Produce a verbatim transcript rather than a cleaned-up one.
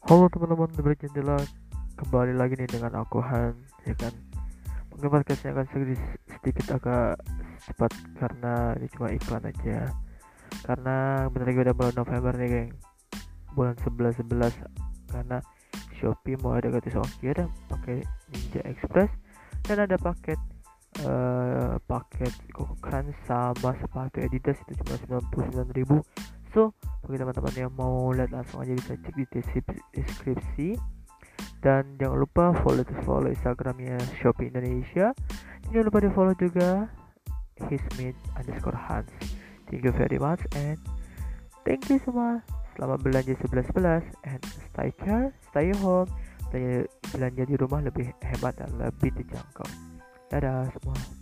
Halo teman-teman berjendela, kembali lagi nih dengan aku Han, ya kan. Mungkin podcastnya akan sedikit, sedikit agak cepat karena ini cuma iklan aja. Karena bentar lagi udah bulan November nih geng, bulan sebelas sebelas. Karena Shopee mau ada gratis ongkir pakai Ninja Express, dan ada paket eh paket Kokan sama sepatu Adidas itu cuma sembilan puluh sembilan ribu. So bagi teman-teman yang mau lihat langsung aja bisa cek di deskripsi. Dan jangan lupa follow follow Instagramnya Shopee Indonesia. Jangan lupa di follow juga hismit underscore Hans. Thank you very much and thank you semua. Selamat belanja sebelas sebelas and stay care, stay home. Belanja, belanja di rumah lebih hemat dan lebih terjangkau. Dadah semua.